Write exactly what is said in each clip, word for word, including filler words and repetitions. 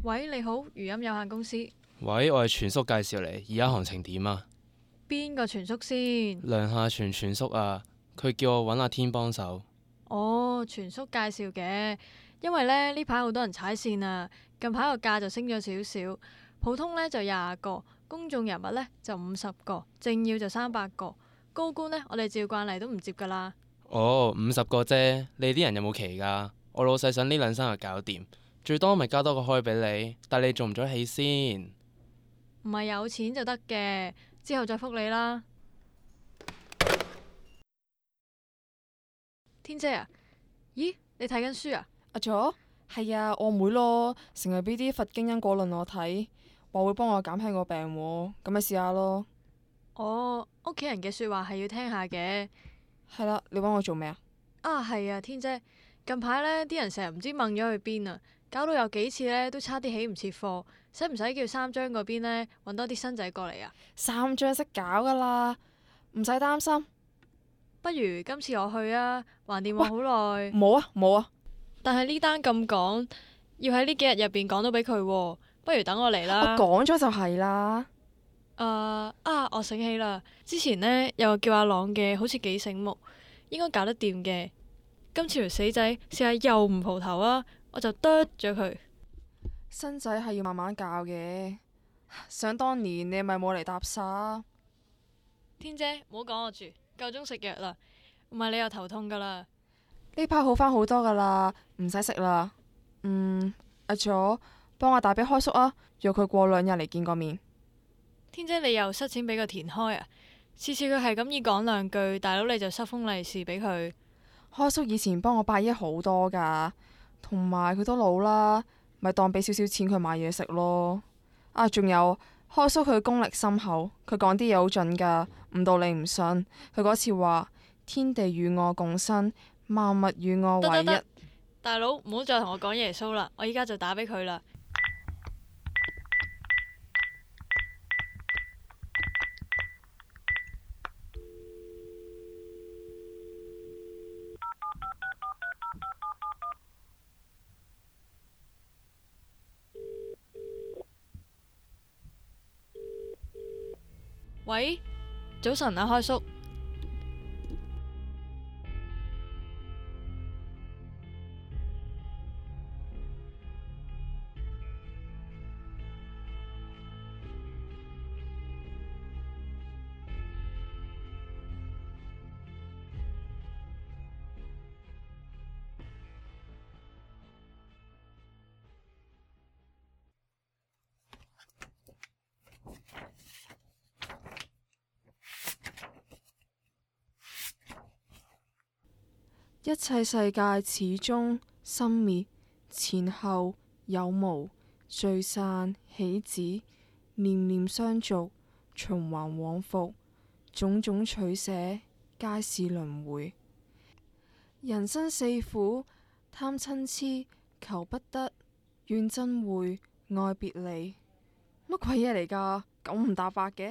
喂，你好，語音有限公司。 喂，我係全叔介紹嚟，而家行程點啊？ 邊個全叔先？ 梁下全全叔啊，佢叫我揾阿天幫手。 哦，全叔介紹嘅，因為咧呢排好多人踩線啊，近排個價就升咗少少，普通呢就廿個，公眾人物呢就五十個，政要就三百個，高官呢，我哋照慣例都唔接噶啦。 哦，五十個啫，你啲人有冇期㗎？我老細想呢兩三日搞掂，最多咪加多個開俾你，但你做唔做得起先？ 唔係有錢就得嘅，之後再覆你啦。天姐啊，咦，你睇緊書啊？ 阿佐，係啊，我妹咯，成日俾啲佛經因果論我睇，話會幫我減輕個病喎，咁咪試下咯。 哦，屋企人嘅說話係要聽下嘅。 係啦，你揾我做咩啊？ 啊，係啊，天姐，近排呢啲人成日唔知掹咗去邊啊，搞到有幾次呢都差啲起唔切貨，使唔使叫三張嗰邊呢揾多啲新仔過嚟啊？ 三張識搞噶啦，唔使擔心。 不如今次我去啊，橫掂我好耐。 冇啊冇啊， 但係呢單咁趕，要喺呢幾日入邊講到俾佢，不如等我嚟啦。 我講咗就係啦。 誒、uh, 啊！我醒起啦，之前呢有個叫阿朗嘅，好似幾醒目，應該搞得掂嘅。今次條死仔試下又唔蒲頭啊，我就剁咗佢。 新仔係要慢慢教嘅。想當年你咪冇嚟搭沙。 天姐，唔好講我住，夠鐘食藥啦，唔係你又頭痛噶啦。 呢排好返好多噶啦，唔使食啦。嗯，阿佐，幫我打俾開叔啊，約佢過兩日嚟見個面。 天姐，你又塞錢俾個田開啊？次次佢係咁意講兩句，大佬你就塞封利是俾佢。 開叔以前幫我百億好多噶，同埋佢都老啦，咪當俾少少錢佢買嘢食咯。啊，仲有開叔佢功力深厚，佢講啲嘢好準噶，唔到你唔信。佢嗰次話天地與我共生，萬物與我為一。 大佬唔好再同我講耶穌啦，我依家就打俾佢啦。喂，早晨啊，開叔。 一切世界始終生滅，前後有無，聚散起止，念念相續，循環往復，種種取捨，皆是輪迴。人生四苦，貪嗔癡，求不得，怨憎會，愛別離。乜鬼嘢嚟㗎？九唔搭八嘅。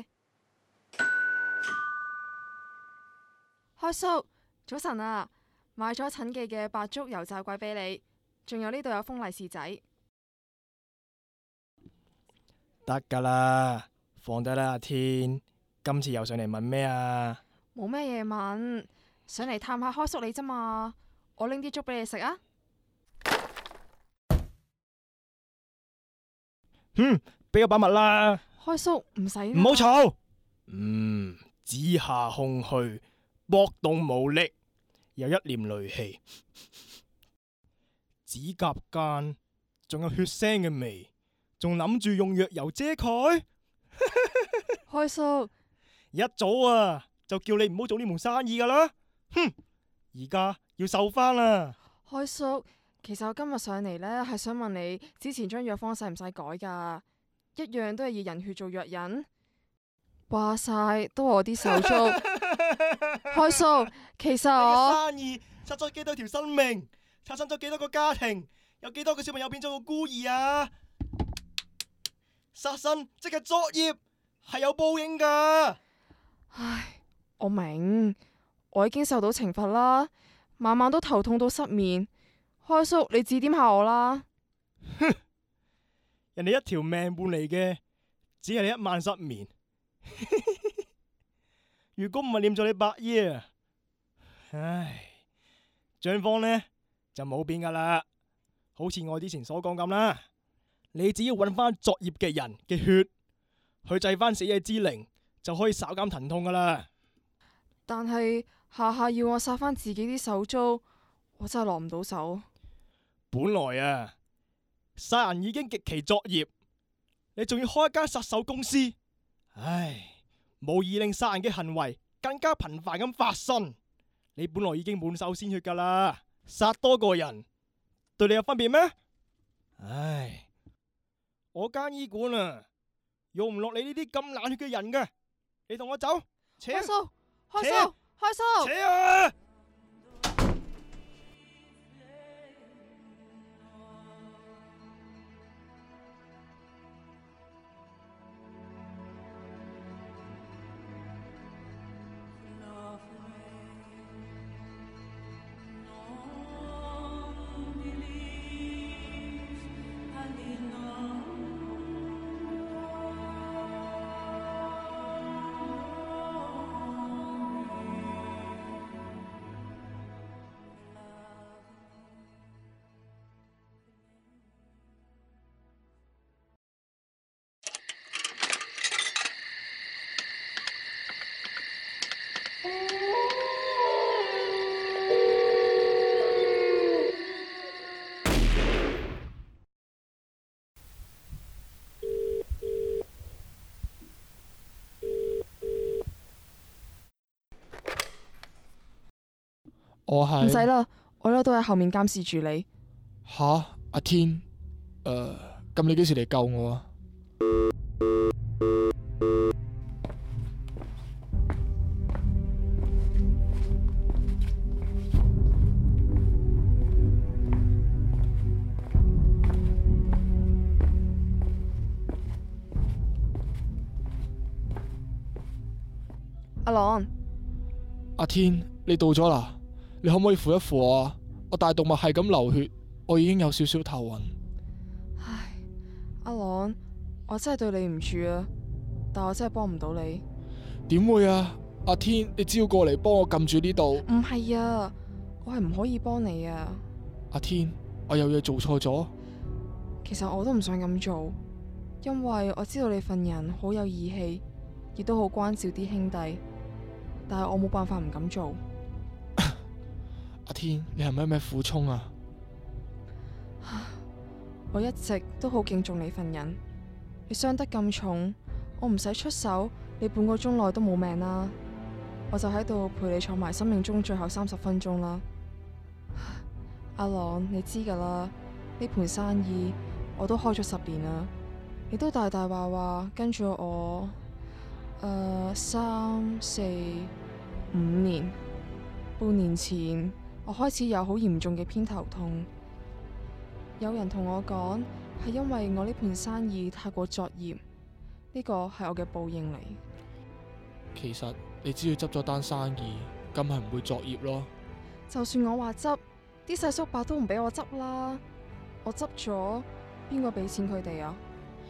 開叔，早晨啊！買咗陳記嘅白粥油炸鬼俾你，仲有呢度有封利是仔。 得噶啦，放低啦，阿天。今次又上嚟問咩啊？ 冇咩嘢問，上嚟探下開叔你咋嘛？我拎啲粥俾你食啊。 哼，俾個把脈啦。 開叔唔使。 唔好嘈。嗯，子夏空虛，搏動無力。有一念戾氣，指甲間仲有血腥嘅味，仲諗住用藥油遮蓋。 開叔， 一早啊就叫你唔好做呢門生意噶啦，哼！而家要受翻啦。 開叔，其實我今日上嚟呢係想問你，之前張藥方使唔使改噶？一樣都係以人血做藥引。話晒都係我啲手足。開叔，其實我生意殺咗幾多條生命，產生咗幾多個家庭，有幾多個小朋友變咗個孤兒啊！殺生即係作孽，係有報應噶。 唉，我明，我已經受到懲罰啦，晚晚都頭痛到失眠。開叔，你指點下我啦。 哼， 人哋一條命換嚟嘅，只係你一晚失眠。如果唔係念咗你伯爺啊，唉，賬方呢就冇變噶啦。好似我之前所講咁啦，你只要揾翻作孽嘅人嘅血，去祭翻死者之靈，就可以稍減疼痛噶啦。 但係下下要我殺翻自己啲手足，我真係落唔到手。 本來啊，殺人已經極其作孽，你仲要開一間殺手公司，唉，無疑令殺人嘅行為更加頻繁咁發生。你本來已經滿手鮮血噶啦，殺多個人對你有分別咩？唉，我間醫館啊，用唔落你呢啲咁冷血嘅人嘅，你同我走，扯， 開數，開扯數，開數， 扯啊！ 我係唔使啦，我呢度都喺後面監視住你。 吓，阿天，誒，咁你幾時嚟救我啊？ 阿朗， 阿天，你到咗啦？你可唔可以扶一扶我啊？我大動脈係咁流血，我已經有少少頭暈。 唉，阿朗，我真係對你唔住啊，但我真係幫唔到你。 點會啊？阿天，你只要過嚟幫我撳住呢度。 唔係啊，我係唔可以幫你啊。 阿天，我有嘢做錯咗。 其實我都唔想咁做，因為我知道你份人好有義氣，亦都好關照啲兄弟，但係我冇辦法唔咁做。 阿天，你係咪有咩苦衷啊？ 我一直都好敬重你份人，你傷得咁重，我唔使出手，你半個鐘內都冇命啦，我就喺度陪你坐埋生命中最後三十分鐘啦。阿朗，你知噶啦，呢盤生意我都開咗十年啦，你都大大話話跟咗我，誒、呃、三四五年，半年前我開始有好嚴重嘅偏頭痛，有人同我講係因為我呢盤生意太過作孽，呢個係我嘅報應嚟。 其實你只要執咗單生意，咁係唔會作孽咯。 就算我話執，啲細叔伯都唔俾我執啦，我執咗，邊個俾錢佢哋啊？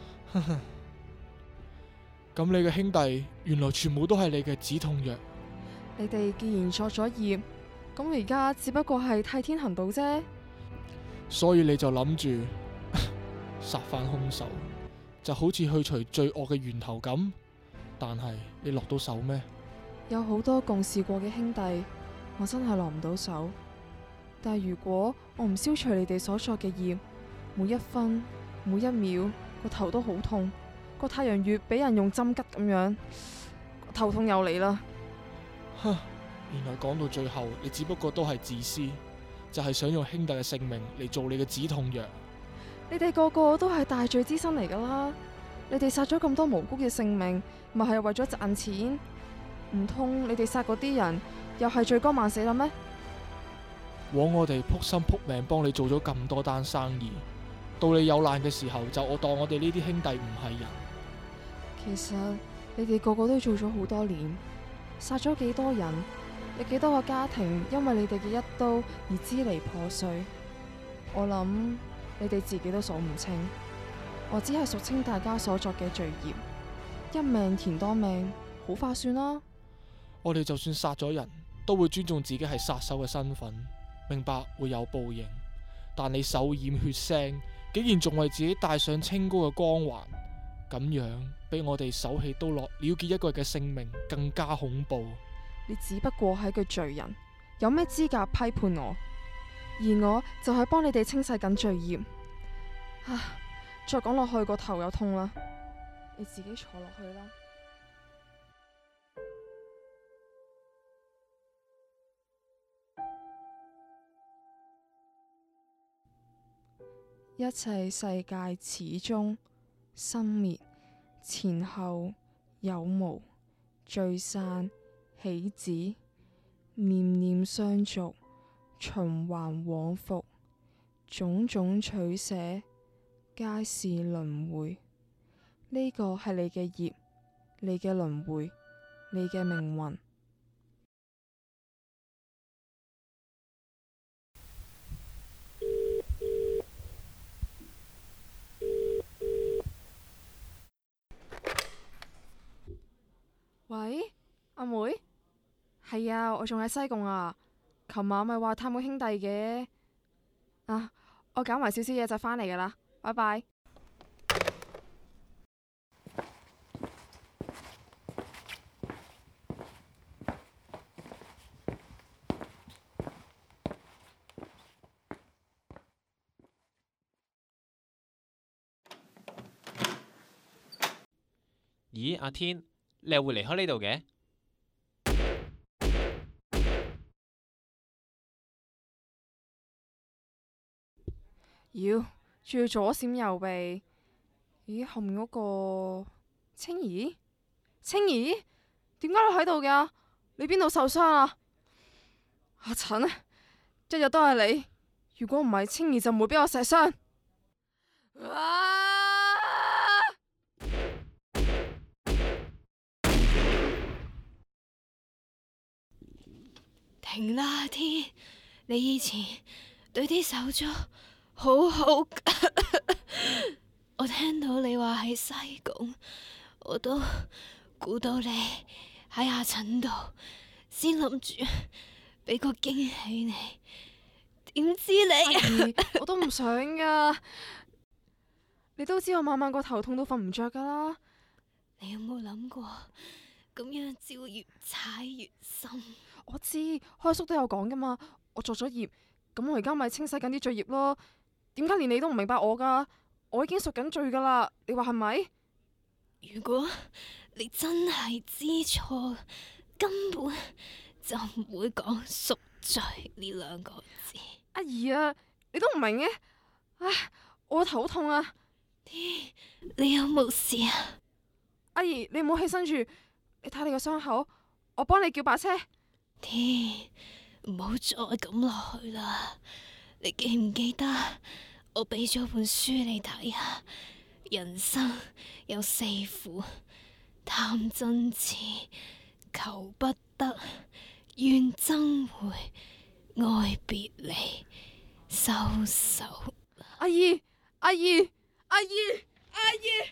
咁你嘅兄弟原來全部都係你嘅止痛藥。 你哋既然作咗孽，咁而家只不過係替天行道啫。 所以你就諗住殺翻兇手，就好似去除罪惡嘅源頭咁。但係你落到手咩？ 有好多共事過嘅兄弟，我真係落唔到手。但係如果我唔消除你哋所作嘅孽，每一分每一秒個頭都好痛，個太陽穴俾人用針吉咁樣，頭痛又嚟啦。 哼，原來講到最後，你只不過都係自私，就係想用兄弟嘅性命嚟做你嘅止痛藥。 你哋個個都係大罪之身嚟噶啦，你哋殺咗咁多無辜嘅性命，咪係為咗賺錢？唔通你哋殺嗰啲人又係罪該萬死啦咩？ 枉我哋撲心撲命幫你做咗咁多單生意，到你有難嘅時候，就我當我哋呢啲兄弟唔係人。 其實你哋個個都做咗好多年，殺咗幾多人，有幾多個家庭因為你哋嘅一刀而支離破碎，我諗你哋自己都數唔清。 我只係肅清大家所作嘅罪孽，一命填多命，好化算啦。 我哋就算殺咗人，都會尊重自己係殺手嘅身份，明白會有報應。但你手染血腥，竟然仲為自己戴上清高嘅光環，咁樣比我哋手起刀落了結一個人嘅性命更加恐怖。 你只不過係個罪人，有咩資格批判我？而我就係幫你哋清洗緊罪孽。唉，再講落去個頭又痛啦，你自己坐落去啦。一切世界始終生滅，前後有無，聚散起止，念念相續，循環往復，種種取捨，皆是輪迴。呢個係你嘅業，你嘅輪迴，你嘅命運。喂，阿妹，係啊，我仲喺西貢啊。琴晚咪話探個兄弟嘅，啊，我搞埋少少嘢就返嚟噶啦，拜拜。 咦，阿天，你又會離開呢度嘅？ 妖，仲要左閃右避。咦，後面嗰個青兒？青兒，點解你喺度㗎？你邊度受傷啊？阿陳，日日都係你。如果唔係，青兒就唔會俾我射傷。啊！ 停啦，阿天！你以前對啲手足好好噶。我聽到你話喺西貢，我都估到你喺阿陳度，先諗住俾個驚喜你。點知你？ 阿姨，我都唔想噶。你都知我晚晚個頭痛到瞓唔着噶啦。 你有冇諗過咁樣只會越踩越深？ 我知，開叔都有講噶嘛。我作咗業，咁我而家咪清洗緊啲罪孽咯。點解連你都唔明白我噶？我已經贖緊罪噶啦，你話係咪？ 如果你真係知錯，根本就唔會講贖罪呢兩個字。 阿姨啊，你都唔明嘅？唉，我個頭痛啊！ 天，你有冇事啊？ 阿姨，你唔好起身住，你睇你個傷口，我幫你叫把車。 天，唔好再咁落去啦！你記唔記得我俾咗本書你睇啊？人生有四苦：貪真熾、求不得、怨憎會、愛別離、收手。 阿姨，阿姨，阿姨，阿姨。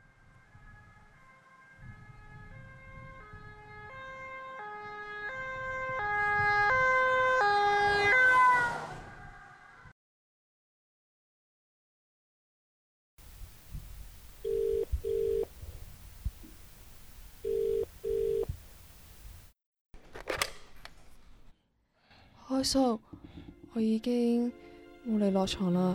開叔，我已經冇力落床啦。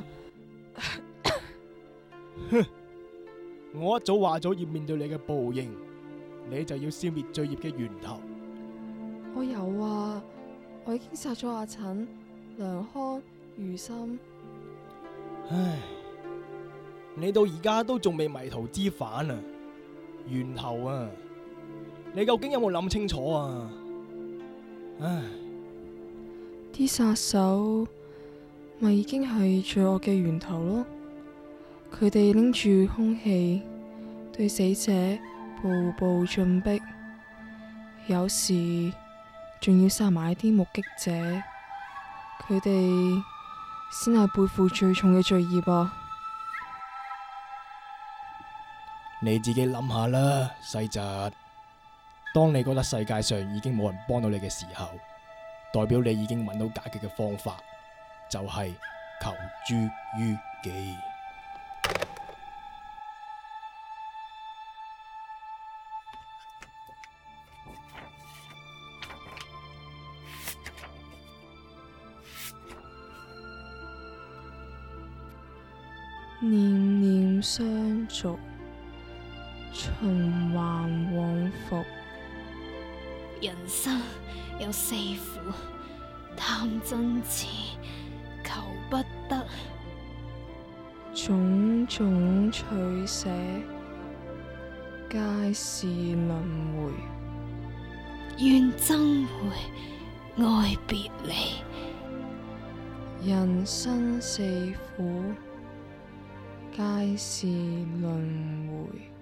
哼，我一早話咗要面對你嘅報應，你就要消滅罪孽嘅源頭。 我有啊，我已經殺咗阿陳、梁康、余心。 唉，你到而家都仲未迷途知返啊！源頭啊，你究竟有冇諗清楚啊？唉。 啲殺手咪已經係罪惡嘅源頭咯，佢哋拎住兇器對死者步步進逼，有時仲要殺埋啲目擊者，佢哋先係背負最重嘅罪孽啊！ 你自己諗下啦，細侄。當你覺得世界上已經冇人幫到你嘅時候，代表你已經揾到解決嘅方法，就係求諸於己。 念念相續，循環往復。 人生有四苦：貪嗔癡，求不得。 種種取捨，皆是輪迴。 怨憎會，愛別離。 人生四苦，皆是輪迴。